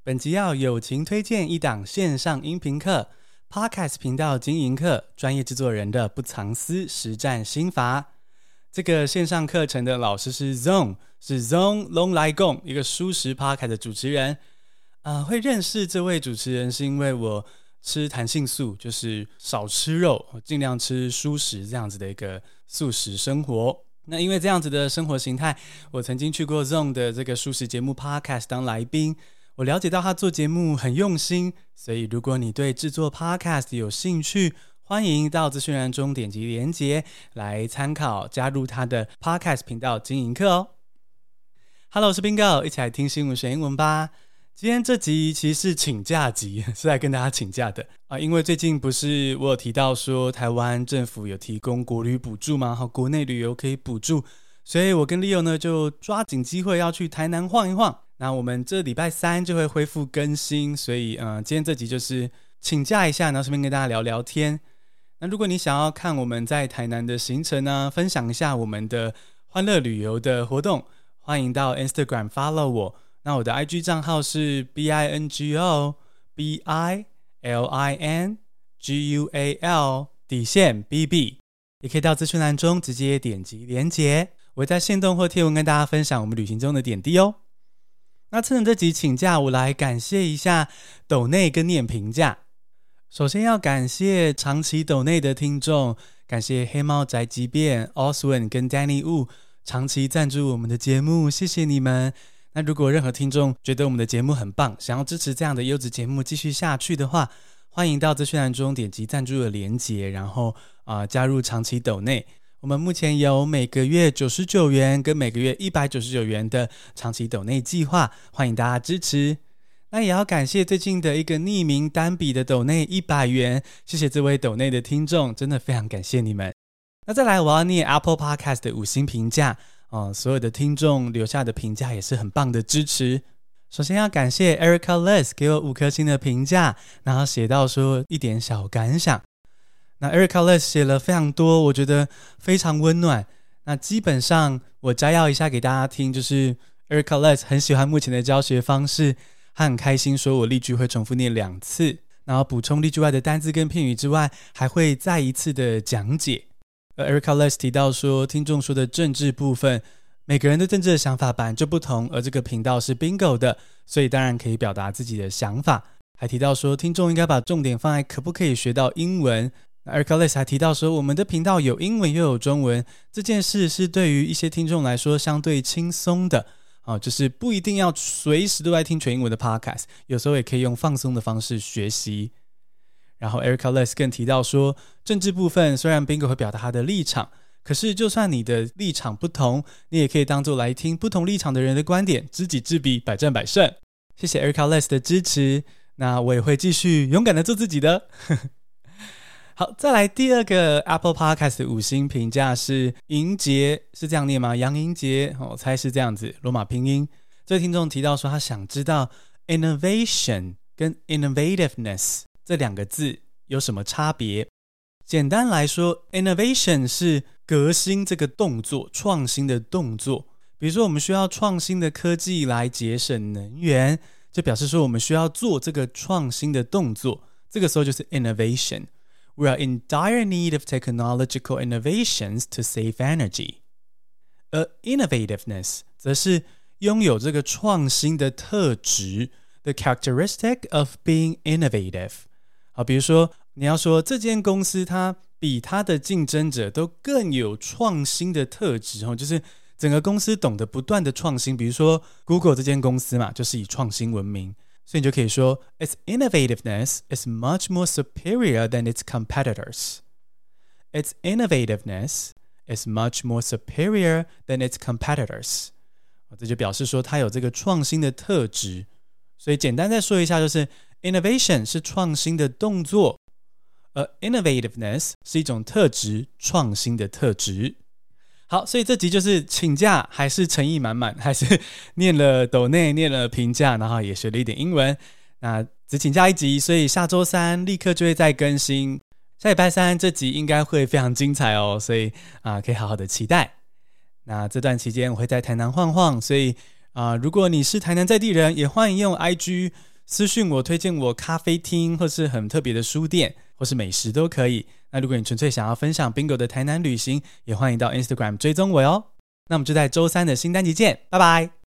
本集要友情推薦一檔線上音頻課 Podcast 頻道經營課，專業製作人的不藏私實戰心法。這個線上課程的老師是 Zong， 是 Zong Long Lai Gong， 一個蔬食 Podcast 的主持人。會認識這位主持人是因為我吃彈性素，就是少吃肉，盡量吃蔬食這樣子的一個素食生活。那因為這樣子的生活形態，我曾經去過 Zong 的這個蔬食節目 Podcast 當來賓，我了解到他做節目很用心，所以如果你對製作 Podcast 有興趣，歡迎到資訊欄中點擊連結來參考，加入他的 Podcast 頻道經營課哦。Hello， 我是 Bingo， 一起來聽新聞學英文吧。今天這集其實是請假集，是來跟大家請假的因為最近不是我有提到說台灣政府有提供國旅補助嗎？國內旅遊可以補助，所以我跟 Leo 呢就抓緊機會要去台南晃一晃。那我們這禮拜三就會恢復更新，所以今天這集就是請假一下，然後順便跟大家聊聊天。那如果你想要看我們在台南的行程呢，分享一下我們的歡樂旅遊的活動，歡迎到 Instagram follow 我。那我的 IG 賬號是 BINGO BILINGUAL _BB， 也可以到資訊欄中直接點擊連結，我會在限動或貼文跟大家分享我們旅行中的點滴哦。那趁着這集請假，我來感謝一下抖內跟念評價。首先要感謝長期抖內的聽眾，感謝黑貓宅急便、Oswin 跟 Danny Wu 長期贊助我們的節目，謝謝你們。那如果任何聽眾覺得我們的節目很棒，想要支持這樣的優質節目繼續下去的話，歡迎到資訊欄中點擊贊助的連結，然後加入長期抖內。我們目前有每個月99元跟每個月199元的長期抖內計劃，歡迎大家支持。那也要感謝最近的一個匿名單筆的抖內100元，謝謝這位抖內的聽眾，真的非常感謝你們。那再來我要念 Apple Podcast 的5星評價。所有的聽眾留下的評價也是很棒的支持。首先要感謝 Erica Les 給我5顆星的評價，然後寫到說一點小感想。那 Erica Les 寫了非常多，我覺得非常溫暖。那基本上我摘要一下給大家聽，就是 Erica Les 很喜歡目前的教學方式，他很開心說我例句會重複念2次，然後補充例句外的單字跟片語之外，還會再一次的講解。Erica Les 提到說，聽眾說的政治部分，每個人對政治的想法本來就不同，而這個頻道是 Bingo 的，所以當然可以表達自己的想法。還提到說，聽眾應該把重點放在可不可以學到英文。Erica Les 還提到說，我們的頻道有英文又有中文，這件事是對於一些聽眾來說相對輕鬆的就是不一定要隨時都在聽全英文的 Podcast， 有時候也可以用放鬆的方式學習。然後 Erica Les 更提到說，政治部分雖然 Bingo 會表達他的立場，可是就算你的立場不同，你也可以當作來聽不同立場的人的觀點，知己知彼，百戰百勝。謝謝 Erica Les 的支持，那我也會繼續勇敢的做自己的。好，再來第二個 Apple Podcast 的5星評價是銀杰，是這樣念嗎？楊銀杰，我猜是這樣子，羅馬拼音。這位聽眾提到說，他想知道 innovation 跟 innovativeness這2個字有什麼差別？簡單來說 ，innovation 是革新這個動作，創新的動作。比如說，我們需要創新的科技來節省能源，就表示說我們需要做這個創新的動作。這個時候就是 innovation。We are in dire need of technological innovations to save energy. 而 innovativeness 則是擁有這個創新的特質 ，the characteristic of being innovative。比如說你要說這間公司它比它的競爭者都更有創新的特質，就是整個公司懂得不斷的創新。比如說 Google 這間公司嘛，就是以創新聞名，所以你就可以說 Its innovativeness is much more superior than its competitors. Its innovativeness is much more superior than its competitors. 這就表示說它有這個創新的特質。所以簡單再說一下，就是Innovation 是創新的動作，而 innovativeness 是一種特質，創新的特質。好，所以這集就是請假，還是誠意滿滿，還是念了抖內，念了評價，然後也學了一點英文。那只請假1集，所以下周3立刻就會再更新。下禮拜3這集應該會非常精彩哦，所以可以好好的期待。那這段期間我會在台南晃晃，所以如果你是台南在地人，也歡迎用 IG 私訊我，推薦我咖啡廳或是很特別的書店或是美食都可以。那如果你純粹想要分享 Bingo 的台南旅行，也歡迎到 Instagram 追蹤我喲。那我們就在週3的新單集見，拜拜。